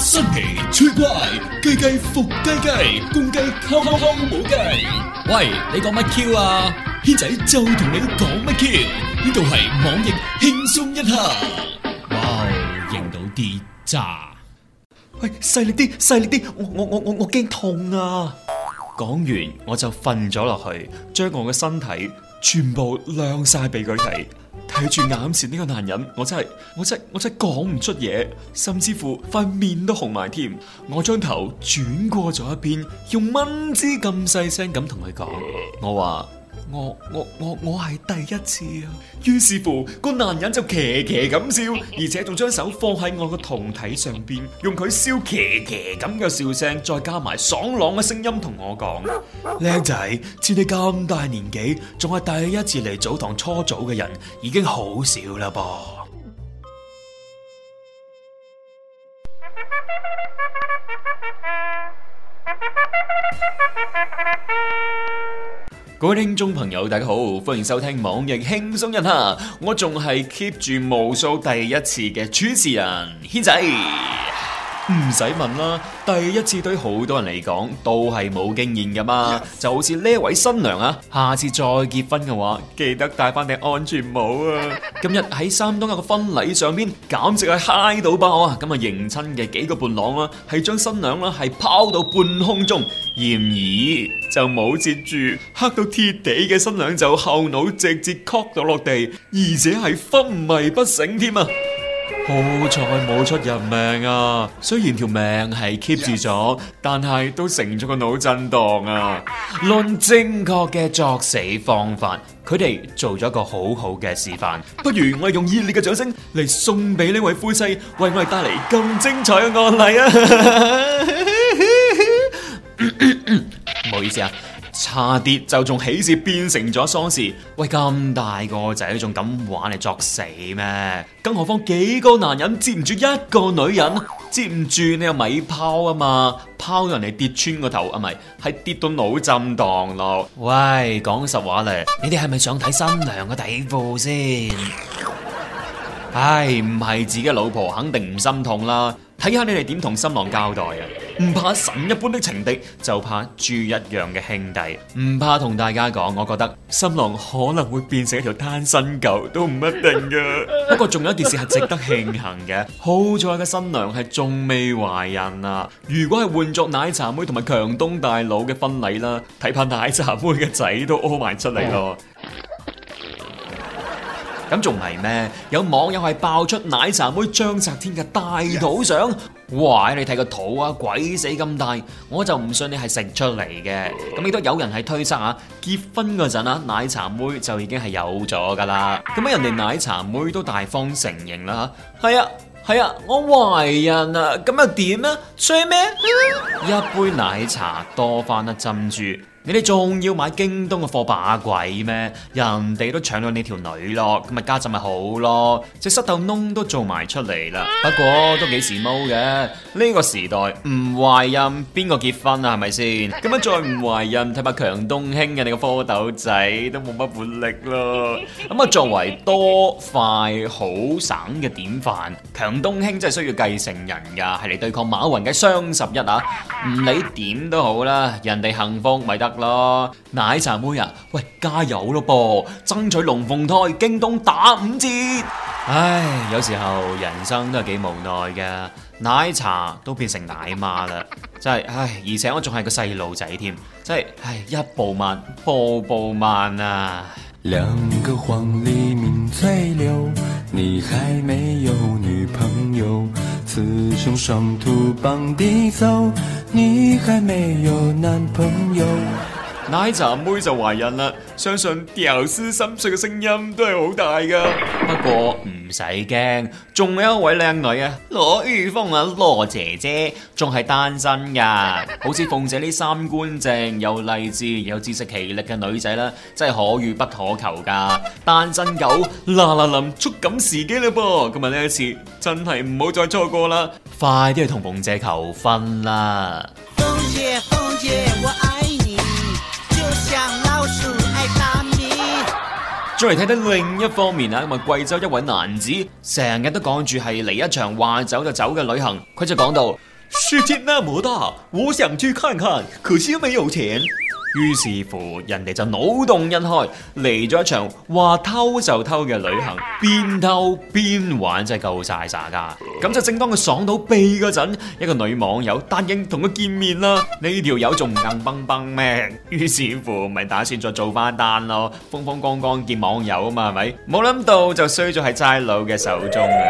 新奇趣怪，雞雞伏雞雞，公雞敲敲敲冇雞。喂，你講乜 Q 啊？軒仔就同你講乜 Q？呢度係網易輕鬆一刻。哇，認到啲渣。 喂，細力啲，細力啲，我驚痛啊！講完我就瞓咗落去，將我嘅身體全部亮晒俾佢睇。睇住眼前呢個男人，我真係講唔出嘢，甚至乎塊面都紅埋添。我將頭轉過咗一邊，用蚊子咁細聲咁同佢講，我話我係第一次啊。於是乎個男人就騎騎咁笑，而且仲將手放喺我個胴體上邊，用佢笑騎騎咁嘅笑聲，再加埋爽朗嘅聲音同我講：靚仔，似你咁大年紀，仲係第一次嚟澡堂搓澡嘅人，已經好少啦噃。各位聽眾朋友，大家好，歡迎收聽網易輕鬆一刻，我仲係 keep 住無數第一次嘅主持人軒仔。唔使問啦，第一次對好多人嚟講都係冇經驗噶嘛，就好似呢位新娘啊，下次再結婚嘅話，記得戴翻頂安全帽啊！今日喺山東一個婚禮上邊，簡直係嗨到爆啊！咁啊，迎親嘅幾個伴郎啦，係將新娘啦係拋到半空中，然而就冇接住，黑到鐵地嘅新娘就後腦直接磕到落地，而且係昏迷不醒添啊！好彩冇出人命啊！雖然條命係 keep 住咗，但係都成咗個腦震盪啊！論正確嘅作死方法，佢哋做咗一個好好嘅示範。不如我哋用熱烈嘅掌聲嚟送俾呢位夫妻，為我哋帶嚟咁精彩嘅案例啊！唔好意思啊。差啲就仲喜事變成咗喪事，喂，咁大個仔仲咁玩嚟作死咩？更何況幾個男人接唔住一個女人，接唔住你又咪拋啊嘛，拋到人哋跌穿個頭啊，咪係跌到腦震盪咯。喂，講實話咧，你哋係咪想睇新娘嘅底褲先？唉，唔係自己老婆肯定唔心痛啦。睇下你哋點同新郎交代啊！唔怕神一般的情敵，就怕豬一樣嘅兄弟。唔怕同大家講，我覺得新郎可能會變成一條單身狗都唔一定噶。不過仲有一件事係值得慶幸嘅，好彩嘅新娘係仲未懷孕啊！如果係換作奶茶妹同埋強東大佬嘅婚禮啦，睇怕奶茶妹嘅仔都屙埋出嚟咯。咁仲係咩？有網友係爆出奶茶妹章澤天嘅大肚相，哇！你睇個肚啊，鬼死咁大，我就唔信你係食出嚟嘅。咁亦都有人係推測啊，結婚嗰陣啊，奶茶妹就已經係有咗噶啦。咁人哋奶茶妹都大方承認啦，係啊，我懷孕啊，咁又點啊？吹咩？一杯奶茶多翻一珍珠。你哋仲要買京東嘅貨把鬼咩？人哋都搶到你條女咯，咁咪家陣咪好咯，隻膝頭窿都做埋出嚟啦。不過都幾時髦嘅，呢個時代唔懷孕邊個結婚啊？係咪先？咁樣再唔懷孕，睇下強東興嘅你個蝌蚪仔都冇乜活力咯。咁啊，作為多快好省嘅典範，強東興真係需要繼承人噶，係嚟對抗馬雲嘅雙十一啊！唔理點都好啦，人哋幸福咪得咯。奶茶妹啊，喂，加油咯噃，爭取龍鳳胎，京東打5折。唉，有時候人生都係幾無奈嘅，奶茶都變成奶媽啦，真係唉，而且我仲係個細路仔添，真係唉，一步慢，步步慢啊。 兩個黃鸝鳴翠柳，你還沒有女朋友，雌雄雙兔傍地走，你還沒有男朋友。 奶茶妹就懷孕啦，相信屌絲心碎嘅聲音都係好大噶。不過唔使驚，仲有一位靚女啊，羅玉鳳啊，羅姐姐仲係單身噶。好似鳳姐呢三觀正又勵志又自食其力嘅女仔啦，真係可遇不可求噶。單身狗嗱嗱臨捉緊時機啦噃，今日呢一次真係唔好再錯過啦，快啲去同鳳姐求婚啦！ 鳳姐，鳳姐，我愛你，就像老鼠愛大米。 再嚟睇睇另一方面啊，咁啊貴州一位男子成日都講住係嚟一場話走就走嘅旅行，佢就講到世界那麼大，我想去看看，可惜沒有錢。 於是乎，人哋就腦洞一開，嚟咗一場話偷就偷嘅旅行，邊偷邊玩，真係夠晒耍噶。咁就正當佢爽到痹嗰陣，一個女網友答應同佢見面啦。呢條友仲唔硬崩崩咩？於是乎，咪打算再做翻單咯，風風光光見網友啊嘛，係咪？冇諗到就衰咗喺差佬嘅手中啊！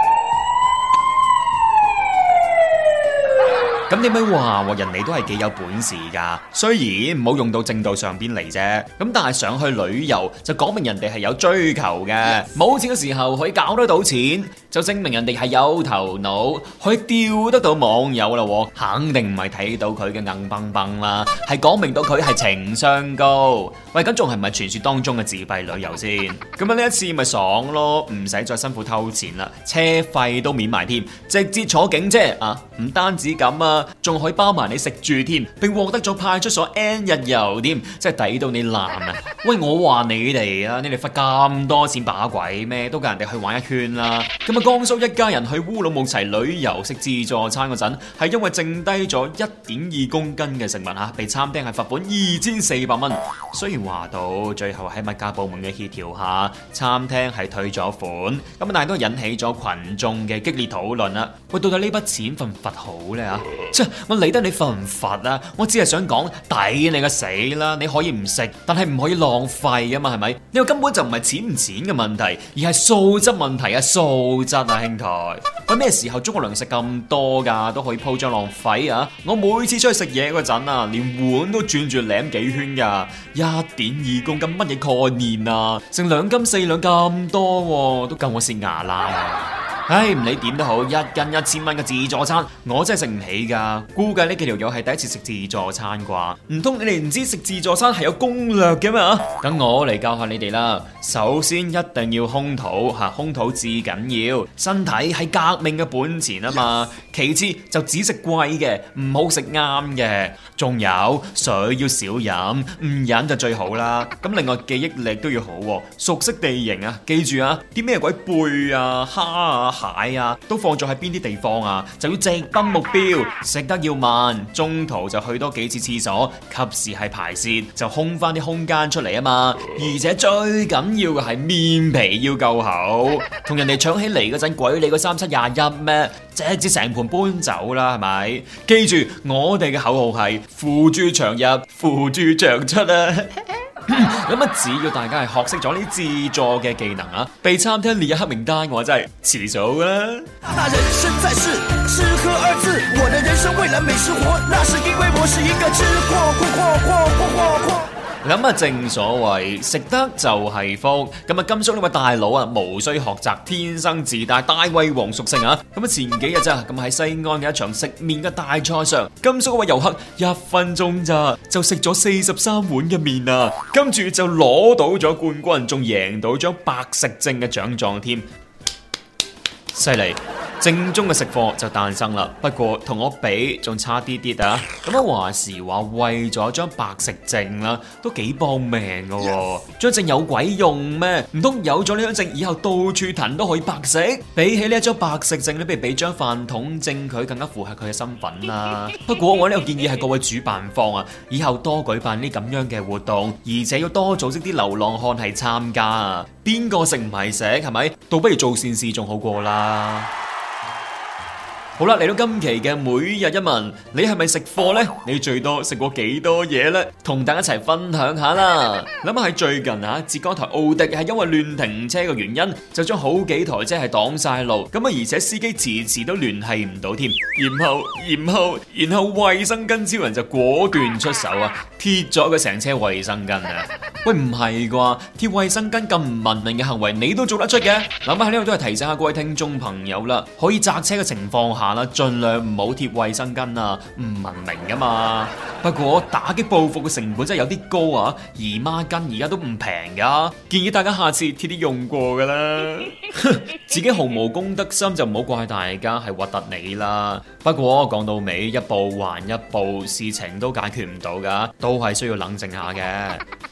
咁點解話人哋都係幾有本事㗎？雖然唔好用到正道上邊嚟啫，咁但係上去旅遊就講明人哋係有追求嘅。冇錢嘅時候可以搞得到錢，就證明人哋係有頭腦，可以釣得到網友啦。肯定唔係睇到佢嘅硬崩崩啦，係講明到佢係情商高。喂，咁仲係唔係傳說當中嘅自費旅遊先？咁呢一次咪爽咯，唔使再辛苦偷錢啦，車費都免埋添，直接坐警車啊！唔單止咁啊！仲可以包埋你食住添，並獲得咗派出所 N 日遊添，真係抵到你爛啊！喂，我話你哋啊，你哋罰咁多錢把鬼咩？都夠人哋去玩一圈啦！咁啊，江蘇一家人去烏魯木齊旅遊食自助餐嗰陣，係因為剩低咗1.2公斤嘅食物嚇，被餐廳係罰款2400蚊。雖然話到最後喺物價部門嘅協調下，餐廳係退咗款，咁但係都引起咗群眾嘅激烈討論啦。喂，到底呢筆錢罰唔罰好呢？啊？我理得你罰唔罰啊！我只係想講抵你個死啦！你可以唔食，但係唔可以浪費啊嘛，係咪？呢個根本就唔係錢唔錢嘅問題，而係素質問題啊！素質啊，兄台！喂，咩時候中國糧食咁多㗎，都可以鋪張浪費啊！我每次出去食嘢嗰陣啊，連碗都轉住舐幾圈㗎，1.2公斤乜嘢概念啊？成2斤4兩咁多，都夠我蝕牙啦！唉，唔理點都好，一斤1000蚊嘅自助餐，我真係食唔起噶。估計呢幾條友係第一次食自助餐啩？唔通你哋唔知食自助餐係有攻略嘅嘛？等我嚟教下你哋啦。首先一定要空肚吓，空肚至緊要，身體係革命嘅本錢啊嘛。其次就只食貴嘅，唔好食啱嘅。仲有水要少飲，唔飲就最好啦。咁另外記憶力都要好，熟悉地形啊，記住啊，啲咩鬼貝啊、蝦啊、蟹啊，都放咗喺邊啲地方啊，就要直奔目標，食得要慢，中途就去多幾次廁所，及時係排泄，就空翻啲空間出嚟啊嘛。而且最緊要嘅係面皮要夠厚，同人哋搶起嚟嗰陣，鬼你個3721咩？直接成盤搬走啦，係咪？記住我哋嘅口號係付諸長入，付諸長出啊！咁啊，只要大家係學識咗呢啲自助嘅技能啊，被餐廳列入黑名單嘅話，真係遲早啦。 那人生在世，吃喝二字，我的人生為了美食活，那是因為我是一個吃貨。 咁啊，正所謂食得就係福。咁啊，甘肅呢位大佬啊，無需學習，天生自帶大胃王屬性啊。咁啊，前幾日咋，咁喺西安嘅一場食麵嘅大賽上，甘肅嗰位遊客1分鐘咋就食咗43碗嘅麵啊，跟住就攞到咗冠軍，仲贏到張白食證嘅獎狀添，犀利！正宗嘅食貨就誕生啦，不過同我比仲差啲啲啊！咁啊話時話，為咗張白食證啦，都幾搏命噶喎！張證有鬼用咩？唔通有咗呢張證以後到處騰都可以白食？比起呢一張白食證，你不如俾張飯桶證佢，更加符合佢嘅身份啦！不過我呢個建議係各位主辦方啊，以後多舉辦呢咁樣嘅活動，而且要多組織啲流浪漢係參加啊！邊個食唔係食係咪？倒不如做善事仲好過啦！好啦，嚟到今期嘅每日一問，你係咪食貨呢？你最多食過幾多嘢呢？同大家一齊分享下啦。諗下喺最近啊，浙江台奧迪係因為亂停車嘅原因，就將好幾台車係擋晒路，咁啊而且司機遲遲都聯繫唔到添。然後衛生巾超人就果斷出手啊，貼咗佢成車衛生巾啊！喂，唔係啩？貼衛生巾咁唔文明嘅行為，你都做得出嘅？諗下喺呢度都係提醒下各位聽眾朋友啦，可以泊車嘅情況下啦，盡量唔好貼衛生巾啊，唔文明噶嘛。不過打擊報復嘅成本真係有啲高啊，姨媽巾而家都唔平噶，建議大家下次貼啲用過噶啦。自己毫無公德心就唔好怪大家係核突你啦。不過講到尾，一步還一步，事情都解決唔到噶，都係需要冷靜下嘅。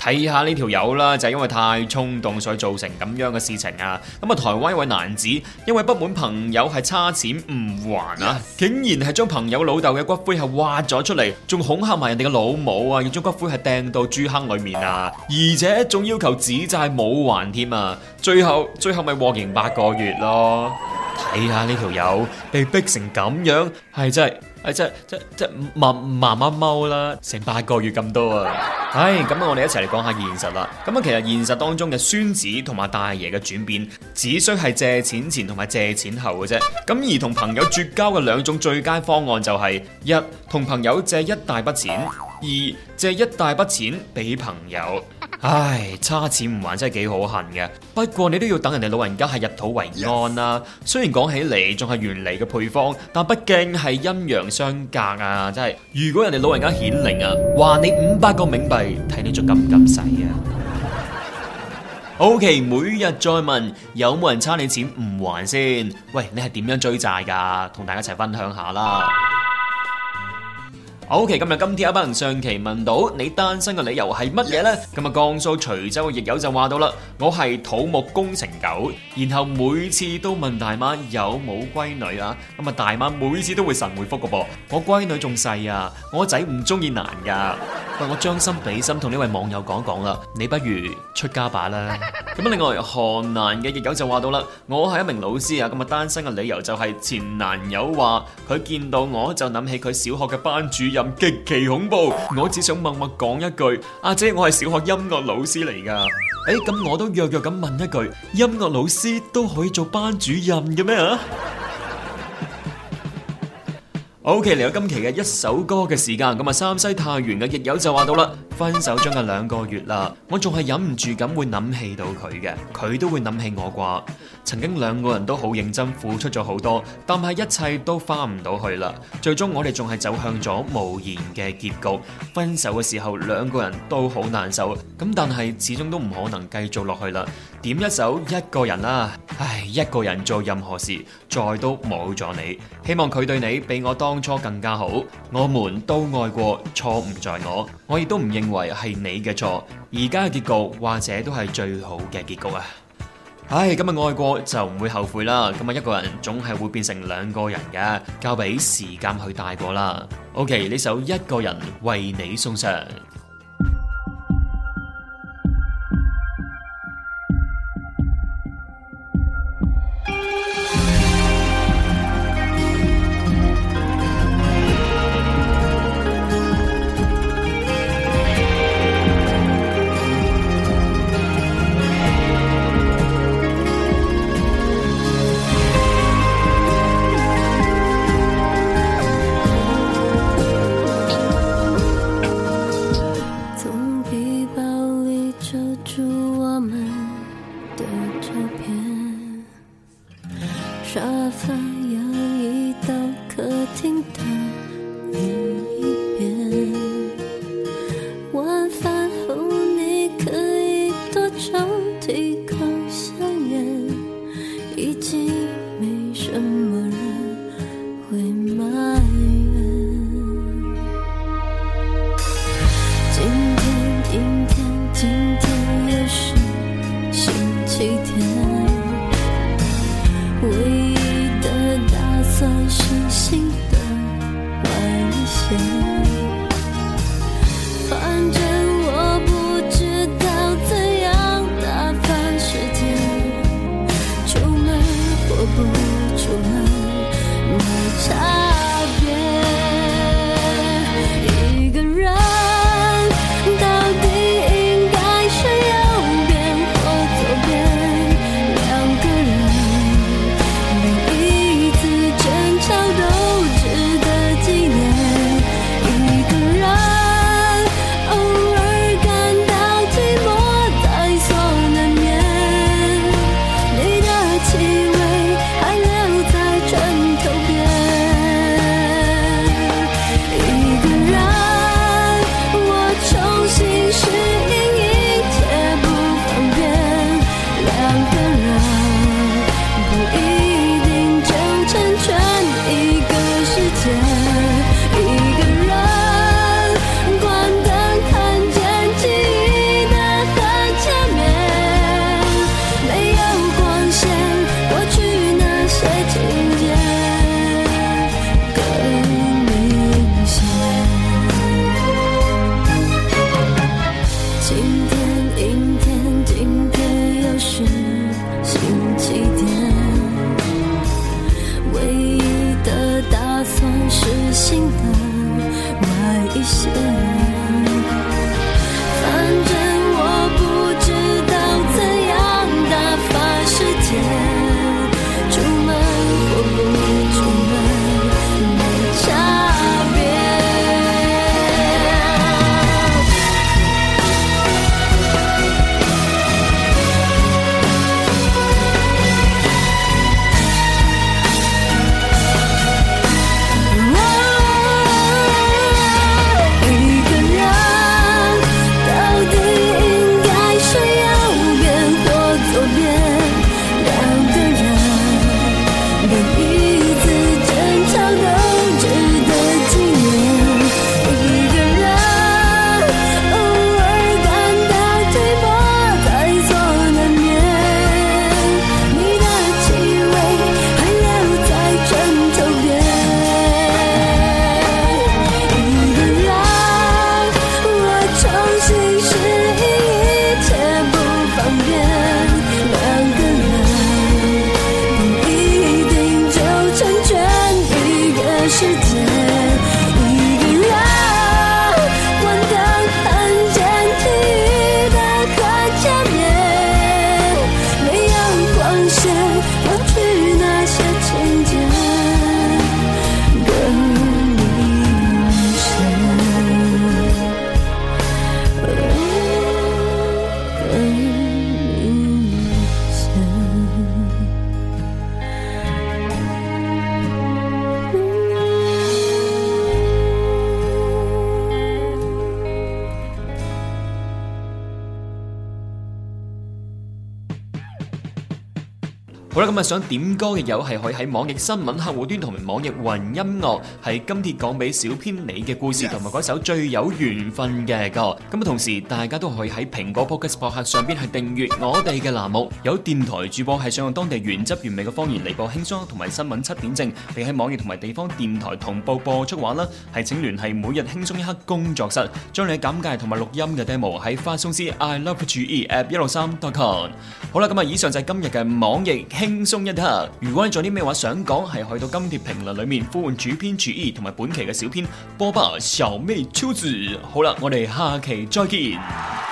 睇下呢條友啦，就係因為太衝動所以造成咁樣嘅事情啊！咁啊，台灣一位男子因為不滿朋友係差錢唔還啊，竟然係將朋友老豆嘅骨灰係挖咗出嚟，仲恐嚇埋人哋嘅老母啊，要將骨灰係掟到豬坑裏面啊，而且仲要求指債冇還添啊！最後咪獲刑8個月咯！睇下呢條友被逼成咁樣，係真係慢慢踎啦，成8個月咁多啊！咁我哋一齊嚟講下現實啦。咁啊，其實現實當中嘅孫子同埋大爺嘅轉變，只需係借錢前同埋借錢後嘅啫。咁而同朋友絕交嘅2種最佳方案就係：一，同朋友借一大筆錢；二，借一大筆錢俾朋友。差錢唔還真係幾可恨嘅。不過你都要等人哋老人家係入土為安啦。雖然講起嚟仲係原嚟嘅配方，但畢竟係陰陽相隔啊！真係，如果人哋老人家顯靈啊，還你500個冥幣，睇你仲敢唔敢使啊？OK， 每日再問，有冇人差你錢唔還先？喂，你係點樣追債噶？同大家一齊分享下啦。OK， 今天阿班人上期問到你單身嘅理由係乜嘢呢？咁啊，江蘇徐州嘅亦友就話到啦，我係土木工程狗，然後每次都問大媽有冇閨女啊，咁啊大媽每次都會神回覆個噃，我閨女仲細啊，我仔唔中意男噶。喂，我將心比心同呢位網友講啦，你不如出家吧啦。咁另外河南嘅亦友就話到啦，我係一名老師啊，咁啊單身嘅理由就係前男友話佢見到我就諗起佢小學嘅班主任極其恐怖，我只想默默講一句，阿姐我係小學音樂老師嚟噶。咁我都弱弱咁問一句，音樂老師都可以做班主任嘅咩啊？OK，嚟到今期嘅一首歌嘅時間，咁啊山西太原嘅亦友就話到啦，分手將近2個月啦，我仲係忍唔住咁會諗起到佢嘅，佢都會諗起我啩。曾經2個人都好認真付出咗好多，但係一切都翻唔到去啦。最終我哋仲係走向咗無言嘅結局。分手嘅時候2個人都好難受，咁但係始終都唔可能繼續落去啦。點一首一個人啦，一個人做任何事，再都冇咗你。希望佢對你比我當初更加好。我們都愛過，錯唔在我亦都唔認為係你嘅錯。而家嘅結局或者都係最好嘅結局啊！今日愛過就唔會後悔啦。咁啊，一個人總係會變成2個人嘅，交俾時間去帶過啦。OK， 呢首一個人為你送上。 沙发摇移到客厅的另一边，晚饭后你可以多抽几口香烟，已经没什么人会埋怨。今天阴天，今天也是星期天，唯一的打算是新的世界，一定要关灯看见你的可见面，没有光线忘去那些情节，更明显，更明显。 好啦，咁想點歌嘅友係可以喺網易新聞客戶端同埋網易雲音樂，係今帖講俾小編你嘅故事同埋嗰首最有緣分嘅歌。咁同時大家都可以喺蘋果 Podcast 博客上邊係訂閱我哋嘅欄目。有電台主播係想用當地原汁原味嘅方言嚟播輕鬆同埋新聞7點正，並喺網易同埋地方電台同步播出嘅話啦，係請聯繫每日輕鬆一刻工作室，將你嘅簡介同埋錄音嘅 demo 喺發送至 iLoveGE@163.com。好啦，咁以上就係今日嘅網易輕鬆一刻。如果你仲有啲咩話想講，係去到今帖評論裏面呼喚主編注意同埋本期嘅小編波霸小妹秋子。好啦，我哋下期再見。